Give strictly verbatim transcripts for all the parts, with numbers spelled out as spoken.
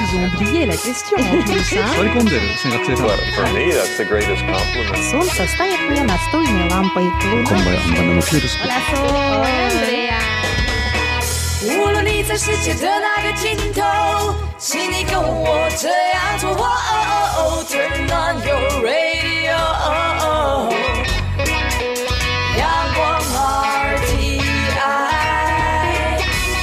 ils ont oublié la question en plus. For me, that's the greatest compliment. Солнце стоит мне настольной лампой. Hola, Sol. Andrea. 无论你在世界的哪个尽头，请你跟我这样做。Turn on your radio， 阳光 R T I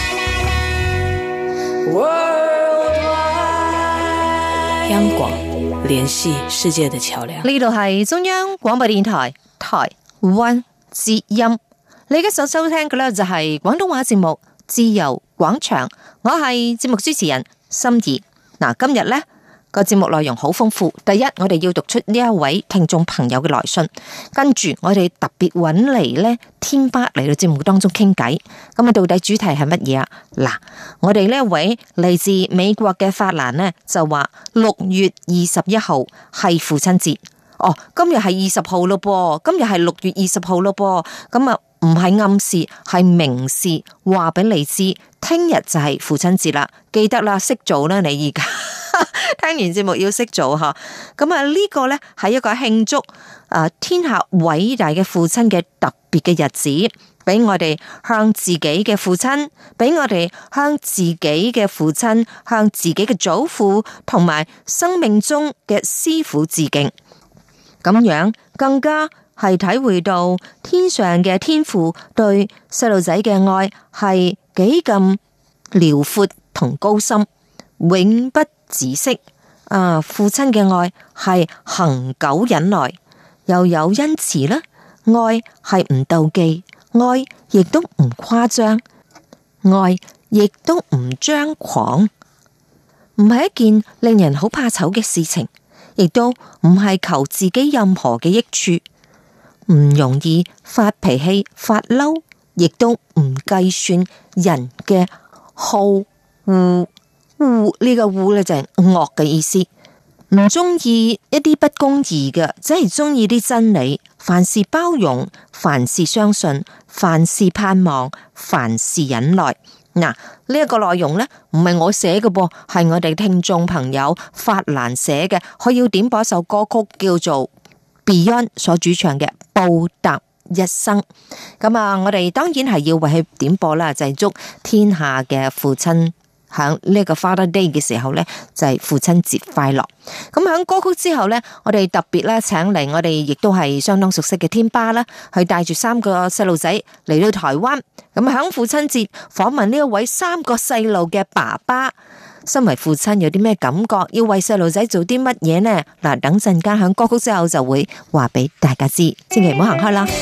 Worldwide， 央廣聯繫世界的橋樑。 呢度係中央廣播電台台灣之音，你而家所收聽嘅咧就係廣東話節目自由廣場，我係節目主持人心怡。嗱，今日呢個節目內容好豐富。第一，我哋要讀出呢一位聽眾朋友嘅來信，跟住我哋特別揾嚟呢天巴嚟到節目當中傾偈。咁啊，到底主題係乜嘢啊？嗱，我哋呢一位嚟自美國嘅法蘭呢，就話六月二十一號係父親節。哦，今日係二十號咯噃，今日係六月二十號咯噃，咁啊唔係暗示，係明示，話俾你知，聽日就係父親節啦，記得啦，識做啦，你而家聽完節目要識做吓，咁啊呢個呢係一個慶祝啊天下偉大嘅父親嘅特別嘅日子，俾我哋向自己嘅父親，俾我哋向自己嘅父親，向自己嘅祖父同埋生命中嘅師傅致敬。咁樣更加係體會到天上嘅天父對細路仔嘅愛係幾咁遼闊同高深，永不止息。啊，父親嘅愛係恆久忍耐，又有恩慈啦。愛係唔妒忌，愛亦都唔誇張，愛亦都唔張狂，唔係一件令人好怕醜嘅事情。亦都唔係求自己任何嘅益處，唔容易發脾氣發嬲，亦都唔計算人嘅好惡，惡呢個惡咧就係惡嘅意思，唔中意一啲不公義嘅，只係中意啲真理，凡事包容，凡事相信，凡事盼望，凡事忍耐。嗱，呢一個內容呢，唔係我寫嘅噃，係我哋聽眾朋友法蘭寫嘅。佢要點播一首歌曲，叫做 Beyond 所主唱嘅《報答一生》。咁啊，我哋當然係要為佢點播啦，就係祝天下嘅父親響呢個 Father Day 嘅時候呢，就係父親節快樂。咁響歌曲之後呢，我哋特別咧請嚟我哋亦都係相當熟悉嘅天巴啦，去帶住三個細路仔嚟到台灣。咁響父親節訪問呢一位三個細路嘅爸爸，身為父親有啲咩感覺？要為細路仔做啲乜嘢呢？嗱，等陣間響歌曲之後就會話俾大家知，千祈唔好行開啦。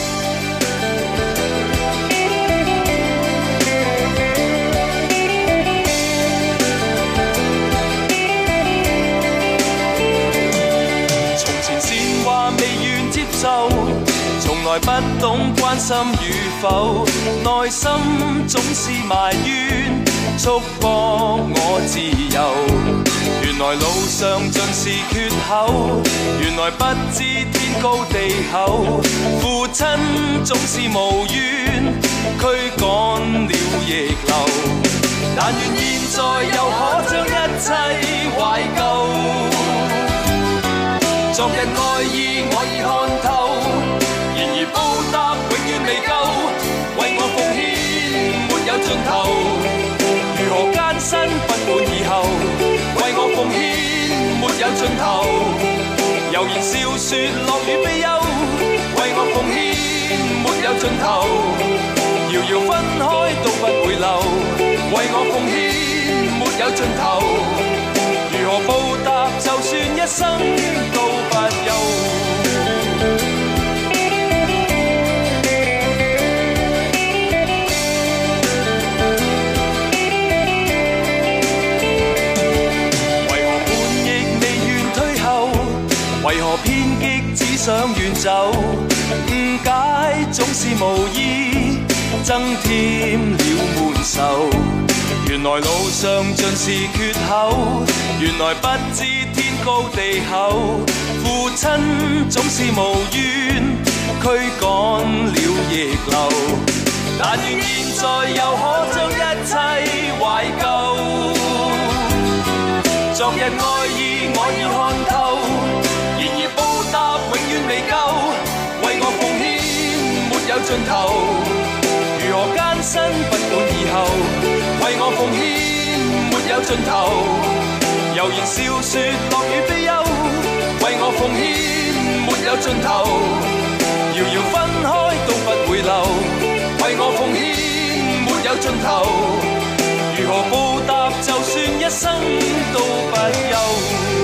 從來不懂關心與否，內心總是埋怨，束縛我自由。原來路上盡是缺口，原來不知天高地厚。父親總是無怨，驅趕了逆流。但願現在又可將一切懷舊。昨日愛意我已看透，然而報答永遠未夠，為我奉獻沒有盡頭。如何艱辛不滿以後，為我奉獻沒有盡頭。悠然笑說樂與悲憂，為我奉獻沒有盡頭。遙遙分開都不會留，為我奉獻沒有盡頭。如何報答，就算一生都不休。為何叛逆未願退後？為何偏激只想遠走？誤解總是無意，增添了悶愁。原來路上盡是缺口，原來不知天高地厚。父親總是無怨，驅趕了逆流。但願現在又可將一切懷舊。 昨日愛意我已看透，然而報答永遠未夠，為我奉獻沒有盡頭。如何艱辛不管以後，為我奉獻沒有盡頭。悠然笑說樂與悲憂，為我奉獻沒有盡頭。遙遙分開都不會留，為我奉獻沒有盡頭。如何報答，就算一生都不休。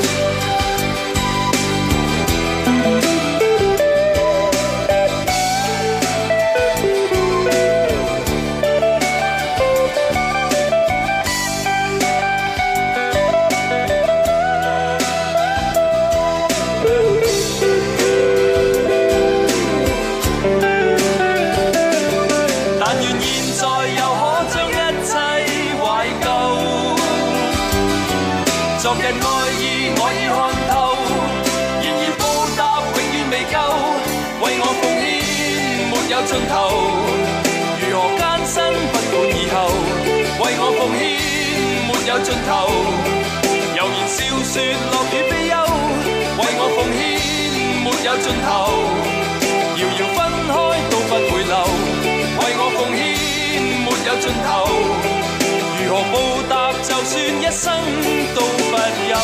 昨日愛意我已看透，然而報答永遠未夠，為我奉獻沒有盡頭。如何艱辛不管以後，為我奉獻沒有盡頭。悠然笑說樂與悲憂，為我奉獻沒有盡頭。遙遙分開都不會留，為我奉獻沒有盡頭。如何報答，就算一生都不休。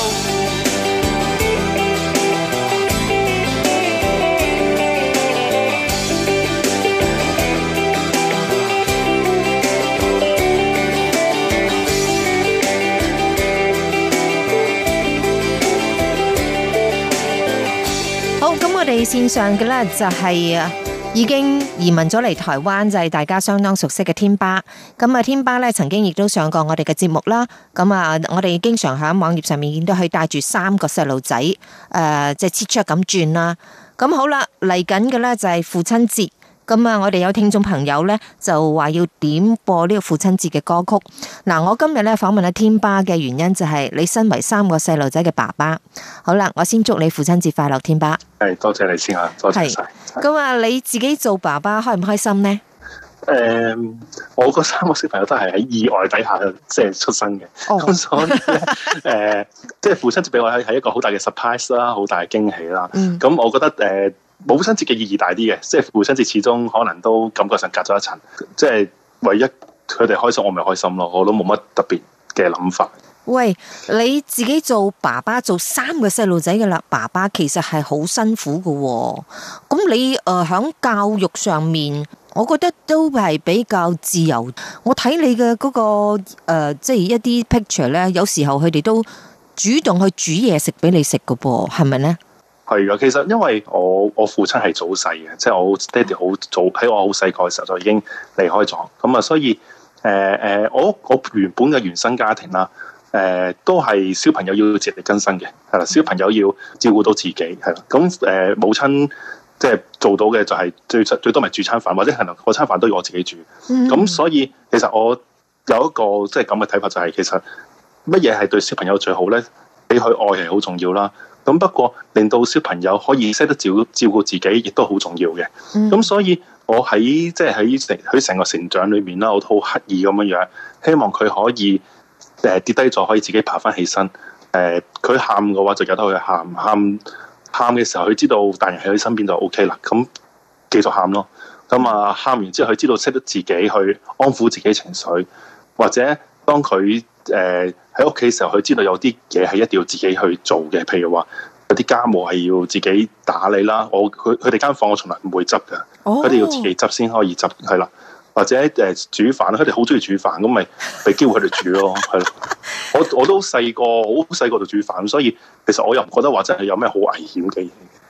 好，咁我哋線上嘅咧就係啊。已經移民咗嚟台灣，就係大家相當熟悉嘅天巴。咁啊，天巴咧曾經亦都上過我哋嘅節目啦。咁啊，我哋經常喺網頁上面見到佢帶住三個細路仔，誒、呃，即係切出咁轉啦。咁好啦，嚟緊嘅咧就係父親節。咁啊，我哋有聽眾朋友咧就話要點播呢個父親節嘅歌曲。嗱，我今日咧訪問阿天巴嘅原因就係你身為三個細路仔嘅爸爸。好啦，我先祝你父親節快樂，天巴。 係，多謝你先啊，多謝晒。 咁啊，你自己做爸爸開唔開心呢？ 誒、嗯，我嗰三個小朋友都係喺意外底下即係出生嘅，咁、哦、所以咧，誒、呃，即係父親節俾我係係一個好大嘅 surprise 啦，好大嘅驚喜啦。咁、嗯、我覺得誒。呃母親節嘅意義大啲嘅，即係父親節始終可能都感覺上隔咗一層，即係唯一佢哋開心，我咪開心咯，我都冇乜特別嘅諗法。 喂，你自己做爸爸做三個細路仔嘅啦，爸爸其實係好辛苦㗎，咁你誒響、呃、教育上面，我覺得都係比較自由。我睇你嘅嗰、那個誒、呃，即係一啲 picture 咧，有時候佢哋都主動去煮嘢食俾你食㗎噃，係咪咧？ 係噶，其實因為我我父親係早逝嘅，即係我爹哋好早喺我好細個嘅時候就已經離開咗，咁啊，所以誒誒、呃，我我原本嘅原生家庭啦，誒、呃、都係小朋友要自力更生嘅，係啦，小朋友要照顧到自己，係啦，咁誒、呃、母親即係做到嘅就係最最多咪煮餐飯，或者可能嗰餐飯都要我自己煮，咁、嗯、所以其實我有一個即係咁嘅睇法，就係其實乜嘢係對小朋友最好咧？俾佢愛係好重要啦。咁不過令到小朋友可以識得照照顧自己，亦都好重要嘅。咁、嗯、所以我喺即係喺成佢成個成長裏面啦，我都好刻意咁樣樣，希望佢可以誒、呃、跌低咗可以自己爬翻起身。誒、呃，佢喊嘅話就由得佢喊，喊喊嘅時候佢知道大人喺佢身邊就 O K 啦。咁繼續喊咯。咁啊喊完之後佢知道識得自己去安撫自己情緒，或者當佢誒喺屋企嘅時候，佢知道有啲嘢係一定要自己去做嘅，譬如話有啲家務係要自己打理啦。我佢佢哋間房我從來唔會執㗎，佢哋要自己執先可以執，係啦。或者誒煮飯，佢哋好中意煮飯，咁咪俾機會佢哋煮咯，係咯。我我都細個好細個就煮飯，所以其實我又唔覺得話真係有咩好危險嘅嘢。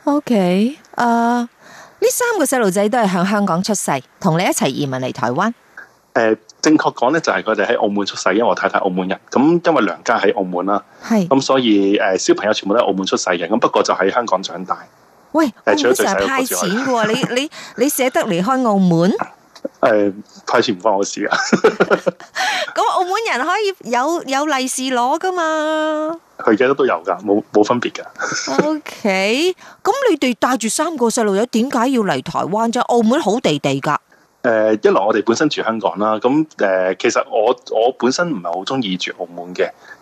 OK，誒呢三個細路仔都係喺香港出世，同你一齊移民嚟台灣。 誒、呃，正確講咧，就係佢哋喺澳門出世，因為我太太澳門人，咁因為娘家喺澳門啦，係，咁所以誒、呃、小朋友全部都喺澳門出世嘅，咁不過就喺香港長大。喂，澳門成日派錢嘅，你你你捨得離開澳門？誒、 呃，派錢唔關我事啊。 咁澳門人可以有有利是攞噶嘛？ 佢而家都有噶，冇冇分別噶。 O K， 咁你哋帶住三個細路仔，點解要嚟台灣啫？澳門好地地噶。 誒、呃，一來我哋本身住香港啦，咁誒、呃，其實我我本身唔係好中意住澳門嘅，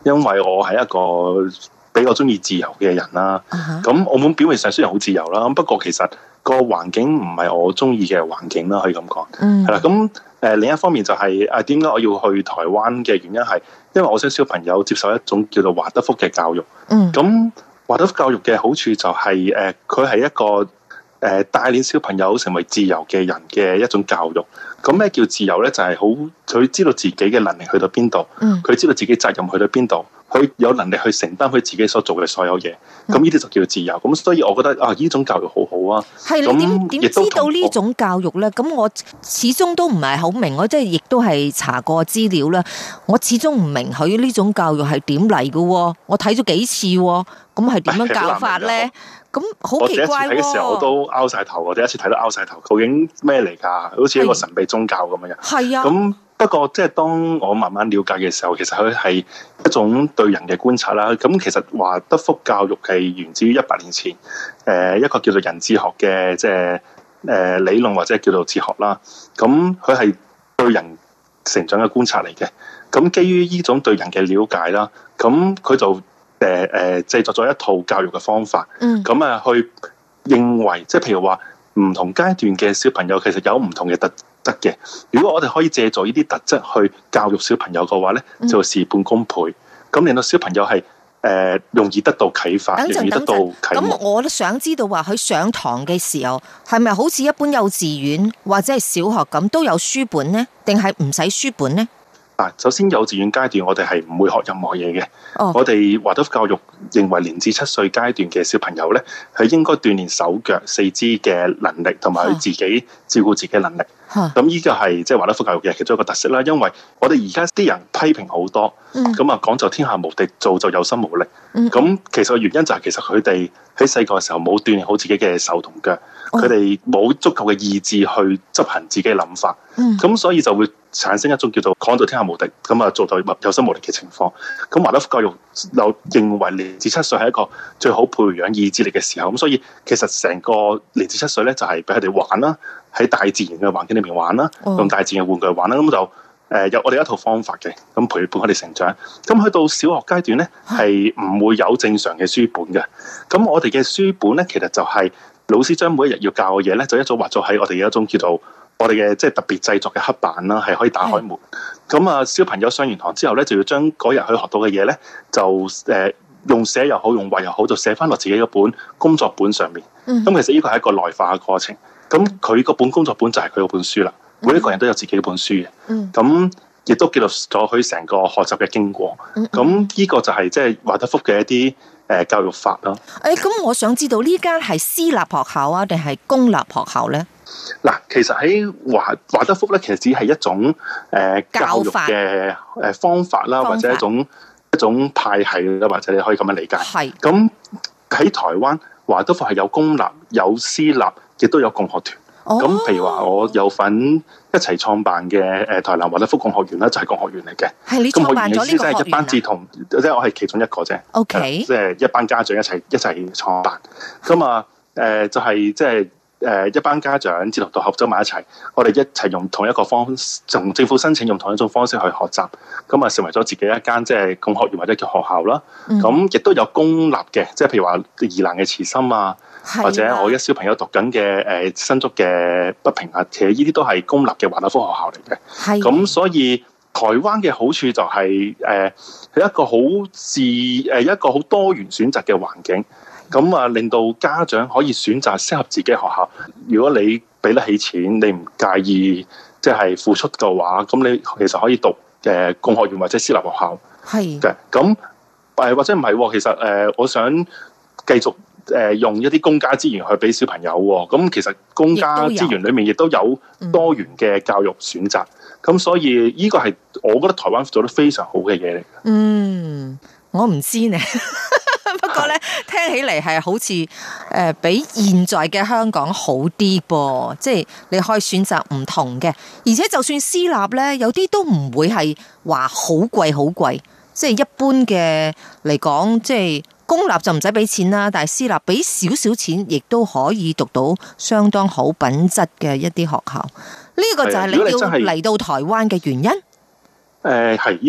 因為我係一個比較中意自由嘅人啦。咁、uh huh. 澳門表面上雖然好自由啦，不過其實個環境唔係我中意嘅環境啦，可以咁講。係啦、mm.，咁誒另一方面就係誒點解我要去台灣嘅原因係，因為我想小朋友接受一種叫做華德福嘅教育。嗯，咁華德福教育嘅好處就係誒佢係一個誒帶領小朋友成為自由嘅人嘅一種教育。咁咩叫自由咧？就係好佢知道自己嘅能力去到邊度，佢知道自己責任去到邊度，佢有能力去承擔佢自己所做嘅所有嘢。咁呢啲就叫自由。咁所以我覺得啊，呢種教育好好啊。 係你點點知道呢種教育咧？咁我始終都唔係好明，我即係亦都係查過資料啦。我始終唔明佢呢種教育係點嚟嘅。我睇咗幾次，咁係點樣教法咧？咁好奇怪喎！我第一次睇嘅時候我都拗晒頭，我第一次睇到拗晒頭，究竟咩嚟㗎？好似一個神秘宗教咁樣。係啊。咁不過即係當我慢慢了解嘅時候，其實佢係一種對人嘅觀察啦。咁其實華德福教育係源自於一百年前，誒一個叫做人智學嘅即係誒理論或者叫做哲學啦。咁佢係對人成長嘅觀察嚟嘅。咁基於呢種對人嘅了解啦，咁佢就誒誒製作咗一套教育嘅方法，咁啊、嗯、去認為，即係譬如話唔同階段嘅小朋友其實有唔同嘅特質嘅。如果我哋可以借助呢啲特質去教育小朋友嘅話咧，就事半功倍，咁令到小朋友係誒、呃、容易得到啟發，等陣容易得到啟蒙。 咁我都想知道話佢上堂嘅時候係咪好似一般幼稚園或者係小學咁都有書本呢？定係唔使書本呢？ 首先幼稚園階段我哋係唔會學任何嘢嘅。Oh. 我哋華德福教育認為零至七歲階段嘅小朋友咧，係應該鍛鍊手腳四肢嘅能力，同埋佢自己照顧自己嘅能力。咁呢個係即係華德福教育嘅其中一個特色啦。因為我哋而家啲人批評好多，咁啊講就天下無敵，做就有心無力。咁、mm. 其實個原因就係其實佢哋喺細個嘅時候冇鍛鍊好自己嘅手同腳，佢哋冇足夠嘅意志去執行自己嘅諗法。咁、mm. 所以就會產生一種叫做講到天下無敵，咁啊做到有心無力嘅情況。咁華德福教育又認為零至七歲係一個最好培養意志力嘅時候。咁所以其實成個零至七歲咧就係俾佢哋玩啦，喺大自然嘅環境裏面玩啦，用大自然嘅玩具玩啦。咁就誒有我哋一套方法嘅，咁陪伴佢哋成長。咁去到小學階段咧，係唔會有正常嘅書本嘅。咁我哋嘅書本咧，其實就係老師將每一日要教嘅嘢咧，就一早畫咗喺我哋嘅一種叫做我哋嘅即係特別製作嘅黑板啦，係可以打開門。咁啊，小朋友上完堂之後咧，就要將嗰日佢學到嘅嘢咧，就誒用寫又好，用畫又好，就寫翻落自己嘅本工作本上面。咁其實呢個係一個內化嘅過程。咁佢個本工作本就係佢嗰本書啦。每一個人都有自己嘅本書嘅。咁亦都記錄咗佢成個學習嘅經過。咁呢個就係即係華德福嘅一啲誒教育法咯。 誒，咁我想知道呢間係私立學校啊，定係公立學校咧？ 嗱，其實喺華華德福咧，其實只係一種誒、呃、教育嘅誒方法啦，法或者一種一種派系啦，或者你可以咁樣理解。係咁喺台灣，華德福係有公立、有私立，亦都有共學團。咁、哦、譬如話，我有份一齊創辦嘅誒台南華德福共學園啦，就係共學園嚟嘅。係你創辦咗呢個學園啊？即係一班志同，即係我係其中一個啫。O K，即係一班家長一齊一齊創辦。咁啊，誒就係即係。誒一班家長志同道合走埋一齊，我哋一齊用同一個方，從政府申請用同一種方式去學習，咁啊成為咗自己一間即係共學園或者叫學校啦。咁亦都有公立嘅，即係譬如話宜蘭嘅慈心啊，的或者我一小朋友讀緊嘅誒新竹嘅北平啊，其實呢啲都係公立嘅華德福學校嚟嘅。咁的所以台灣嘅好處就係誒係一個好自誒一個好多元選擇嘅環境。咁啊，令到家長可以選擇適合自己嘅學校。如果你俾得起錢，你唔介意即係付出嘅話，咁你其實可以讀誒共學園或者私立學校。係嘅。咁誒或者唔係，其實誒我想繼續誒用一啲公家資源去俾小朋友。咁其實公家資源裏面亦都有多元嘅教育選擇。咁、嗯、所以呢個係我覺得台灣做得非常好嘅嘢嚟嘅。嗯， 我唔知呢。不過咧，聽起嚟係好似誒、呃、比現在嘅香港好啲噃，即係你可以選擇唔同嘅，而且就算私立咧，有啲都唔會係話好貴好貴，即係一般嘅嚟講，即係公立就唔使俾錢啦，但係私立俾少少錢，亦都可以讀到相當好品質嘅一啲學校。呢、這個就係你要嚟到台灣嘅原因。 誒係，呢、這個係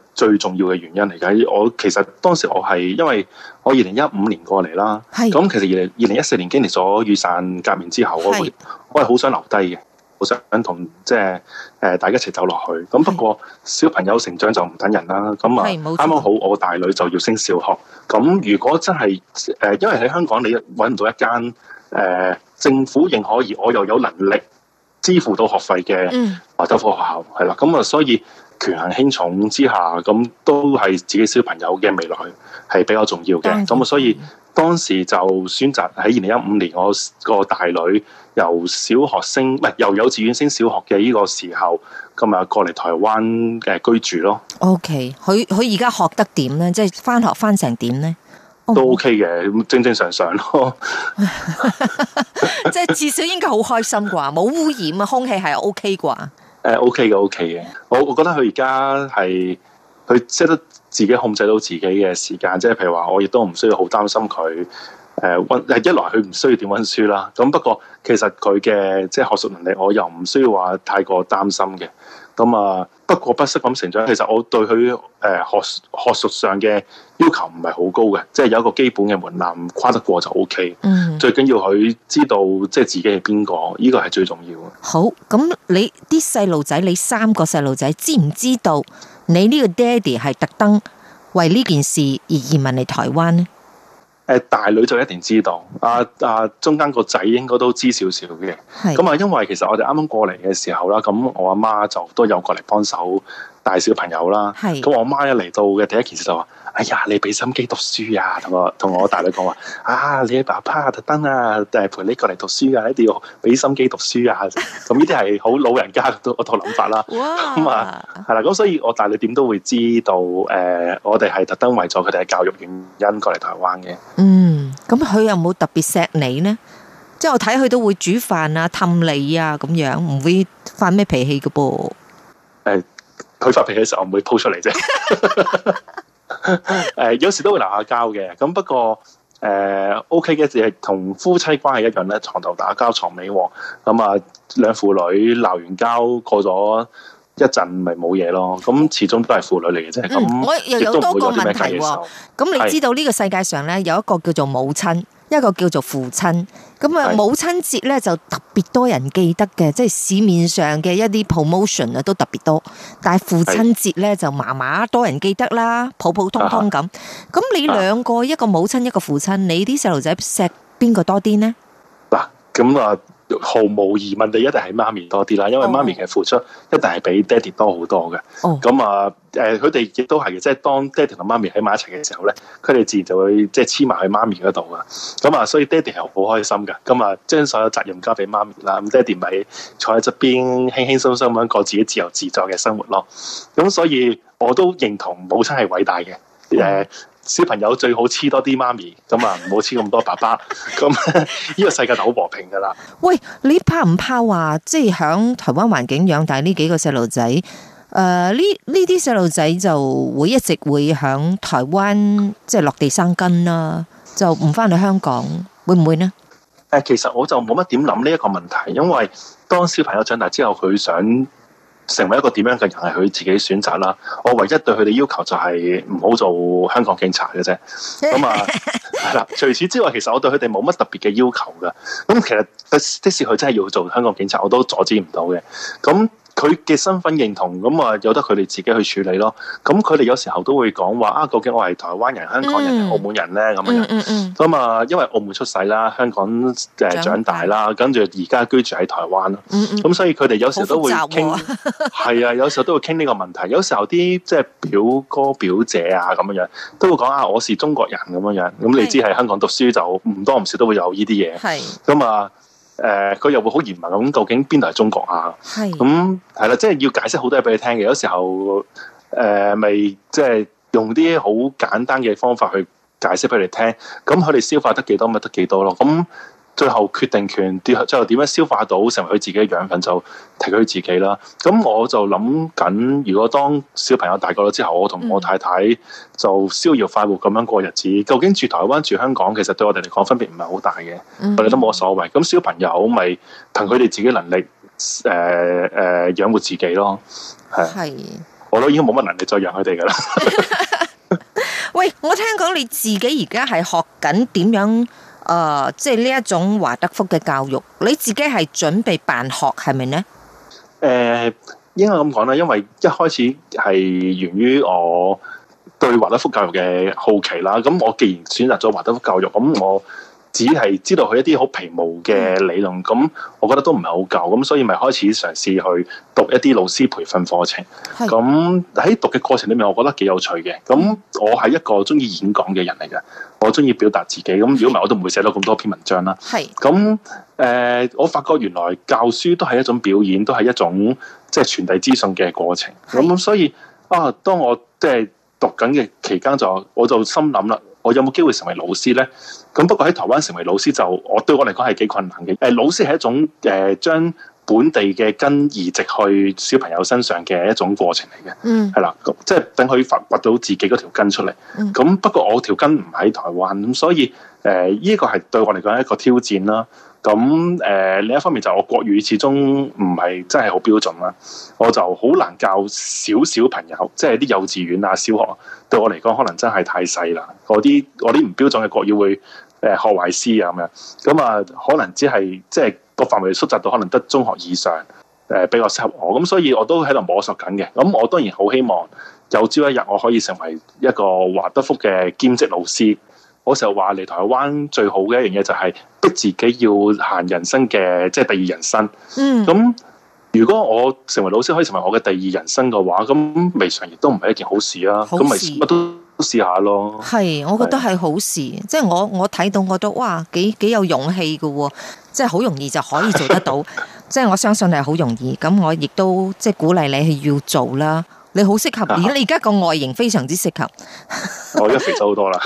最重要嘅原因嚟㗎。我其實當時我係因為我二零一五年過嚟啦，咁其實二零二零一四年經歷咗雨傘革命之後，我會我係好想留低嘅，好想同即係誒大家一齊走落去。咁不過小朋友成長就唔等人啦。咁啊啱啱好我大女就要升小學。咁如果真係誒，因為喺香港你揾唔到一間誒、呃、政府認可而我又有能力支付到學費嘅華德福學校，係啦。咁啊，所以權衡輕重之下，咁都係自己小朋友嘅未來係比較重要嘅。咁啊，所以當時就選擇喺二零一五年，我個大女由小學升，唔係由幼稚園升小學嘅呢個時候，咁啊過嚟台灣嘅居住咯。 OK， 佢佢而家學得點咧？即係翻學翻成點咧？ 都 OK 嘅，正正常常咯。 即係至少應該好開心啩，冇污染啊，空氣係 OK 啩。 誒 OK 嘅 OK 嘅，我我覺得佢而家係佢識得自己控制到自己嘅時間，即係譬如話，我亦都唔需要好擔心佢誒溫，一來佢唔需要點溫書啦。咁不過其實佢嘅即係學術能力，我又唔需要話太過擔心嘅。咁啊，不過不失咁成長。其實我對佢誒學學術上嘅要求唔係好高嘅，即係有一個基本嘅門檻跨得過就 OK。嗯，最緊要佢知道即係自己係邊個，呢個係最重要嘅。 好，咁你啲細路仔，你三個細路仔知唔知道你呢個爹哋係特登為呢件事而移民嚟台灣呢？ 誒，大女就一定知道，啊啊，中間個仔應該都知少少嘅。咁啊，因為其實我哋啱啱過嚟嘅時候啦，咁我阿媽就都有過嚟幫手帶小朋友啦。咁我阿媽一嚟到嘅第一件事就話：哎呀，你俾心機讀書啊！同我同我大女講話：啊，你爸爸特登啊，誒陪你過嚟讀書啊，一定要俾心機讀書啊！咁呢啲係好老人家嗰套諗法啦。咁啊，係啦，咁所以我大女點都會知道，誒、呃，我哋係特登為咗佢哋嘅教育原因過嚟台灣嘅。 嗯，咁佢有冇特別錫你呢？即係我睇佢都會煮飯啊、氹你啊咁樣，唔會發咩脾氣㗎噃。誒、 呃，佢發脾氣嘅時候唔會 po 出嚟啫。誒，有時都會鬧下交嘅。咁不過誒、呃、OK 嘅，就係同夫妻關係一樣咧，床頭打交床尾和。咁啊，兩父女鬧完交過咗一陣咪冇嘢咯，咁始終都係父女嚟嘅啫。咁、嗯、 我又有多個問題喎。咁你知道呢個世界上咧有一個叫做母親，一個叫做父親。咁啊，母親節咧就特別多人記得嘅，即係市面上嘅一啲 promotion 啊都特別多。但係父親節咧就麻麻多人記得啦，普普通通咁。咁你兩個，一個母親一個父親，你啲細路仔錫邊個多啲呢？ 嗱，咁啊。毫無疑問，你一定係媽咪多啲啦，因為媽咪嘅付出一定係比爹哋多好多嘅。咁啊、oh. 誒，佢哋亦都係嘅，即係當爹哋同媽咪喺埋一齊嘅時候咧，佢哋自然就會即係黐埋去媽咪嗰度噶。咁啊，所以爹哋係好開心噶。咁啊，將所有責任交俾媽咪啦，咁爹哋咪坐喺側邊輕輕鬆鬆咁過自己自由自在嘅生活咯。咁所以我都認同母親係偉大嘅。誒、oh. 小朋友最好黐多啲媽咪，咁啊唔好黐咁多爸爸，咁呢個世界就好和平噶啦。喂， 你怕唔怕話即係響台灣環境養大呢幾個細路仔？誒、呃，呢呢啲細路仔就會一直會響台灣即係落地生根啦，就唔翻去香港，會唔會呢？ 誒，其實我就冇乜點諗呢一個問題，因為當小朋友長大之後，佢想成為一個點樣嘅人係佢自己選擇啦。我唯一對佢哋要求就係唔好做香港警察嘅啫。咁啊，係啦。除此之外，其實我對佢哋冇乜特別嘅要求噶。咁其實即使佢真係要做香港警察，我都阻止唔到嘅。咁佢嘅身份認同，咁啊由得佢哋自己去處理咯。咁佢哋有時候都會講話啊，究竟我係台灣人、香港人定澳門人咧？咁樣樣。咁啊，因為澳門出世啦，香港誒長大啦，跟住而家居住喺台灣咯。咁所以佢哋有時候都會傾，係啊，有時候都會傾呢個問題。有時候啲即係表哥表姐啊咁樣樣，都會講啊，我是中國人咁樣樣。咁你知喺香港讀書就唔多唔少都會有呢啲嘢。係。咁啊。誒、呃，佢又會好嚴問咁，究竟邊度係中國啊？係咁係啦，即係要解釋好多嘢俾你聽嘅。有時候誒，咪即係用啲好簡單嘅方法去解釋俾你聽。咁佢哋消化得幾多咪得幾多咯。咁最後決定權，最後點樣消化到成為佢自己嘅養分，就睇佢自己啦。咁我就諗緊，如果當小朋友大個咗之後，我同我太太就逍遙快活咁樣過日子。嗯、究竟住台灣住香港，其實對我哋嚟講分別唔係好大嘅，嗯、我哋都冇所謂。咁小朋友咪憑佢哋自己能力，誒、呃、誒、呃、養活自己咯。係。 我都已經冇乜能力再讓佢哋噶啦。 喂，我聽講你自己而家係學緊點樣誒、呃，即係呢一種華德福嘅教育，你自己係準備辦學係咪呢？ 誒、呃，應該咁講啦，因為一開始係源於我對華德福教育嘅好奇啦。咁我既然選擇咗華德福教育，咁我只係知道佢一啲好皮毛嘅理論，咁我覺得都唔係好夠，咁所以咪開始嘗試去讀一啲老師培訓課程。咁喺讀嘅過程裏面，我覺得幾有趣嘅。咁我係一個中意演講嘅人嚟嘅，我中意表達自己。咁如果唔係，我都唔會寫到咁多篇文章啦。係咁誒，我發覺原來教書都係一種表演，都係一種即係傳遞資訊嘅過程。咁所以啊，當我即係讀緊嘅期間，就我就心諗啦。我有冇機會成為老師呢？咁不過喺台灣成為老師就我對我嚟講係幾困難嘅。誒，老師係一種誒將本地嘅根移植去小朋友身上嘅一種過程嚟嘅。嗯，係啦，即係等佢發掘到自己嗰條根出嚟。咁、嗯、不過我條根唔喺台灣，咁所以誒呢個係對我嚟講係一個挑戰啦。咁誒、呃、另一方面就我國語始終唔係真係好標準啦，我就好難教小小朋友，即係啲幼稚園啊、小學，對我嚟講可能真係太細啦。嗰啲我啲唔標準嘅國語會誒學壞師啊咁樣，咁啊可能只係即係個範圍縮窄到可能得中學以上誒比較適合我，咁所以我都喺度摸索緊嘅。咁我當然好希望有朝一日我可以成為一個華德福嘅兼職老師。我成日話嚟台灣最好嘅一樣嘢就係逼自己要行人生嘅即係第二人生。嗯，咁如果我成為老師可以成為我嘅第二人生嘅話，咁未嘗亦都唔係一件好事啊。咁咪乜都試下咯。係，我覺得係好事。即係我我睇到我都哇幾幾有勇氣嘅，即係好容易就可以做得到。即係我相信係好容易。咁我亦都即係鼓勵你係要做啦。你好適合，而你而家個外形非常之適合。我而家肥咗好多啦。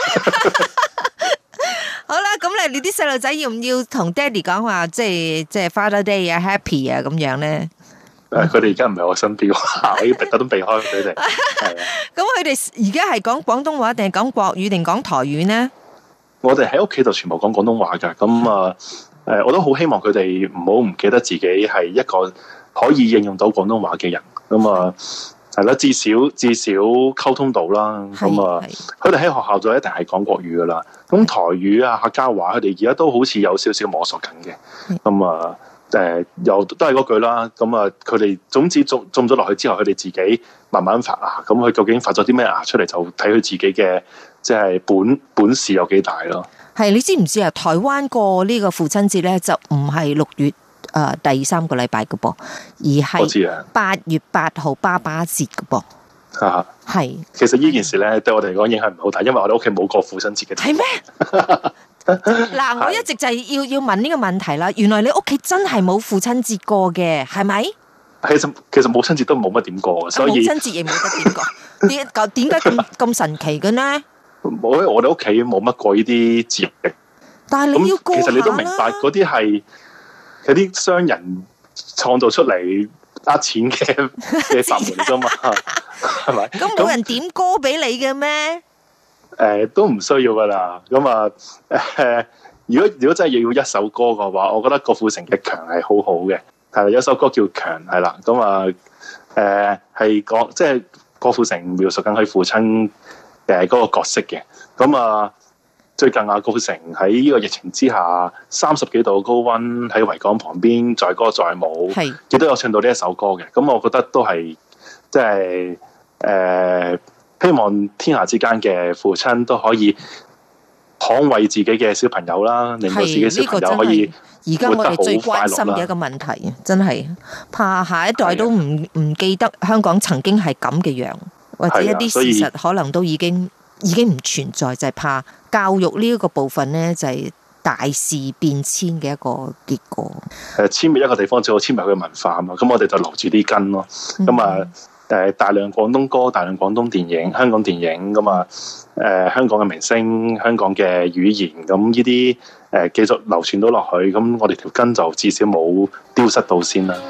好啦，咁你你啲細路仔要唔要同爹哋講話，即係即係 Father Day 啊 ，Happy 啊咁樣咧？誒，佢哋而家唔喺我身邊，我要特登避開佢哋。係啊。咁佢哋而家係講廣東話定係講國語定講台語呢？我哋喺屋企就全部講廣東話噶。咁啊，誒，我都好希望佢哋唔好唔記得自己係一個可以應用到廣東話嘅人。咁啊。係啦，至少至少溝通到啦。咁啊，佢哋喺學校就一定係講國語噶啦。咁台語啊、客家話，佢哋而家都好似有少少摸索緊嘅。咁啊，誒，又都係嗰句啦。咁啊，佢哋種子種種咗落去之後，佢哋自己慢慢發芽。咁佢究竟發咗啲咩芽出嚟，就睇佢自己嘅即係本本事有幾大咯。係，你知唔知啊？台灣過呢個父親節咧，就唔係六月。誒、呃，第三個禮拜嘅噃，而係八月八號爸爸節嘅噃。吓，係。其實呢件事咧，對我哋嚟講影響唔好大，因為我哋屋企冇過父親節嘅。係咩？嗱，我一直就係要要問呢個問題啦。原來你屋企真係冇父親節過嘅，係咪？其實其實母親節都冇乜點過，所以母親節亦冇得點過。點點解咁咁神奇嘅呢？我我哋屋企冇乜過呢啲節日。但係你要過下啦。其實你都明白嗰啲係。有啲商人創造出嚟呃錢嘅嘅法門啫嘛，係咪？咁冇人點歌俾你嘅咩？誒、呃，都唔需要噶啦。咁啊，誒，如果如果真係要一首歌嘅話，我覺得郭富城嘅《強》係好好嘅。係有一首歌叫《強》，係啦。咁啊，誒、呃，係講即係郭富城描述緊佢父親誒嗰個角色嘅。咁啊。最近啊，郭富城喺呢個疫情之下，三十幾度高溫喺維港旁邊載歌載舞，亦都有唱到呢一首歌嘅。咁我覺得都係即係誒，希望天下之間嘅父親都可以捍衛自己嘅小朋友啦，令到自己小朋友可以而家我哋最關心嘅一個問題，真係怕下一代都唔唔記得香港曾經係咁嘅樣，或者一啲事實可能都已經。已經唔存在，就係、是、怕教育呢一個部分呢，就係、是、大事變遷嘅一個結果。誒，殲滅一個地方最好殲滅佢嘅文化啊嘛，咁我哋就留住啲根咯。咁、嗯、啊，誒，大量廣東歌、大量廣東電影、香港電影，咁啊，誒，香港嘅明星、香港嘅語言，咁呢啲誒繼續流傳到落去，咁我哋條根就至少冇丟失到先啦。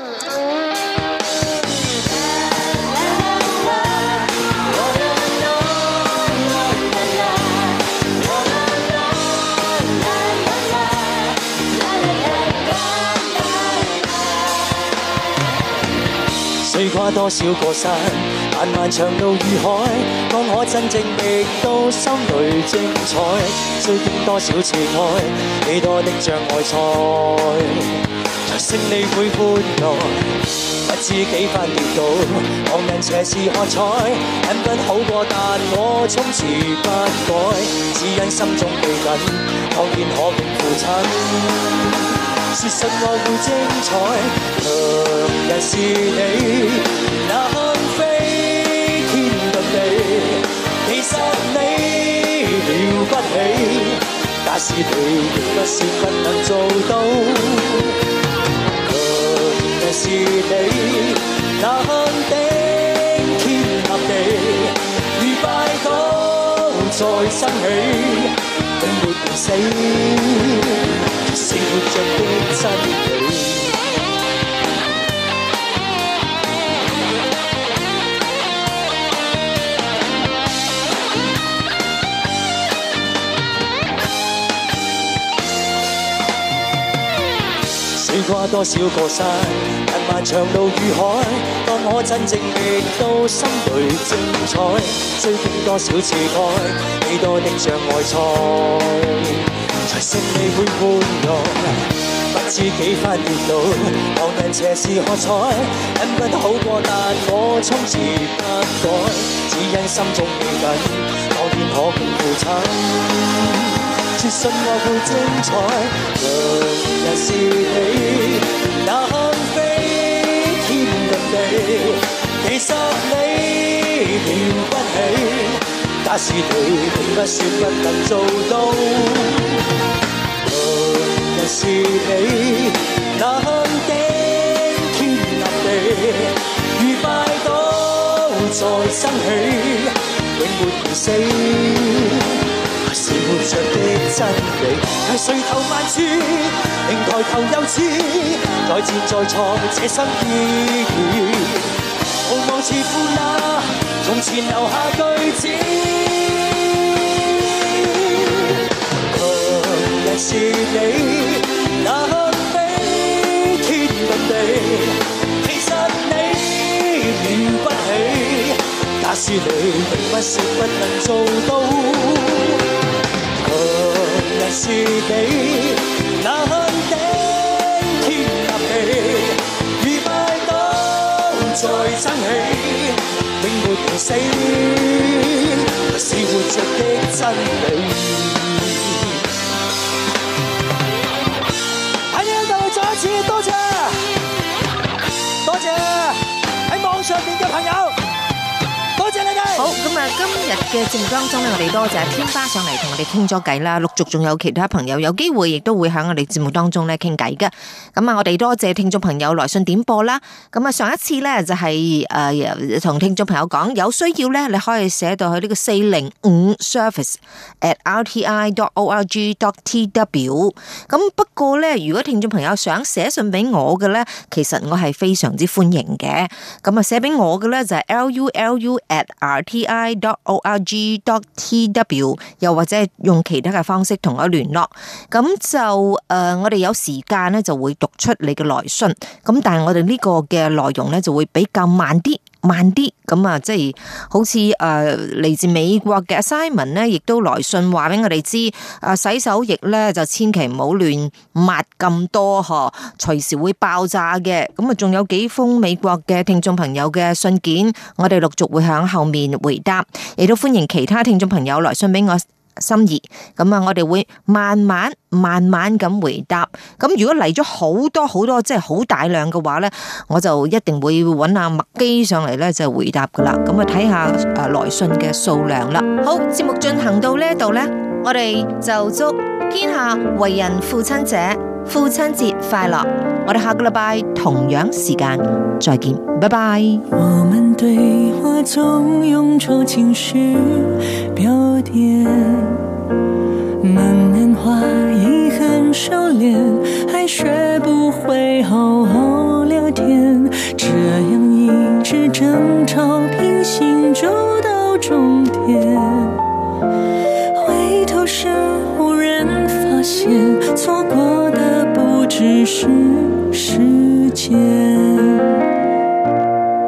跨多少個山， 漫漫長路如海，當我真正覓到心裏精彩，需經多少次愛，幾多的障礙賽，才勝利會歡樂。不知幾番跌倒，旁人斜視喝彩，忍不好過，但我衝刺不改，只因心中記緊，當然可永負親。是信我會精彩，強人是你，能飛天遁地。其實你了不起，假使你亦不是不能做到。強人是你，能頂天立地，如拜倒再生起，永沒變死。是活着的真理。水跨多少個山，漫漫長路如海，當我真正覓到心裏精彩，需經多少次愛，幾多的障礙賽，才勝利會歡樂。不知幾番跌倒，旁人斜視喝彩，忍不好過，但我衝刺不改，只因心中記緊，當然可共負親。絕信我會精彩，強人是你，能飛天遁地。其實你了不起，假使你並不是不能做到。強人是你，能頂天立地，如拜倒再生起，永沒變死。是活着的真理，係垂頭萬處，仍抬頭又似，再戰再創這生意義，無望似負那從前留下句子。強人是你，能飛天遁地，其實你了不起，假使你並不是不能做到。強人是你，能頂天立地，如拜倒再生起，永沒變死，是活着的真理。喺呢度再一次多謝，多謝喺網上面嘅朋友。 好，咁啊，今日嘅節目當中咧，我哋多謝天花上嚟同我哋傾咗偈啦，陸續仲有其他朋友有機會亦都會喺我哋節目當中咧傾偈嘅。咁啊，我哋多謝聽眾朋友來信點播啦。咁啊，上一次咧就係誒同聽眾朋友講，有需要咧你可以寫到去呢個四零五 service at r t i dot org dot t w。咁不過咧，如果聽眾朋友想寫信俾我嘅咧，其實我係非常之歡迎嘅。咁啊，寫俾我嘅咧就係 l u l u at r t i dot org dot t w， 又或者係用其他嘅方式同我聯絡。咁就誒、呃，我哋有時間咧就會讀出你嘅來信。咁但係我哋呢個嘅內容咧就會比較慢啲。慢啲咁啊，即係好似誒嚟自美國嘅 Simon 咧，亦都來信話俾我哋知，誒洗手液咧就千祈唔好亂抹咁多嗬，隨時會爆炸嘅。咁啊，仲有幾封美國嘅聽眾朋友嘅信件，我哋陸續會響後面回答，亦都歡迎其他聽眾朋友來信俾我心意。咁啊，我哋會慢慢慢慢咁回答。咁如果嚟咗好多好多，即係好大量嘅話咧，我就一定會揾阿麥基上嚟咧就回答噶啦。咁啊，睇下誒來信嘅數量啦。好，節目進行到呢一度咧，我哋就祝天下為人父親者父親節快樂。我哋下個禮拜同樣時間再見，拜拜。 我們對話總用柔情詩表點，能年華已很熟練，還學不會好好聊天，這樣一直爭吵平行走到終點，回頭時無人發現，錯過的不只是時間。